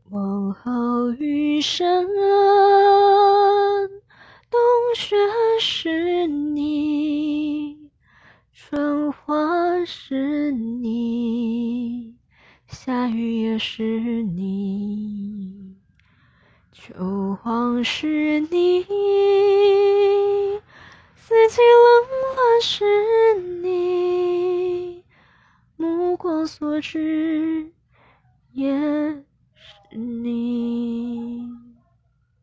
往后余生，冬雪是你，春花是你，夏雨也是你，秋黄是你，四季冷暖是你，目光所至也是你。